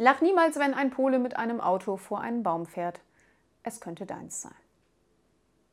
Lach niemals, wenn ein Pole mit einem Auto vor einen Baum fährt. Es könnte deins sein.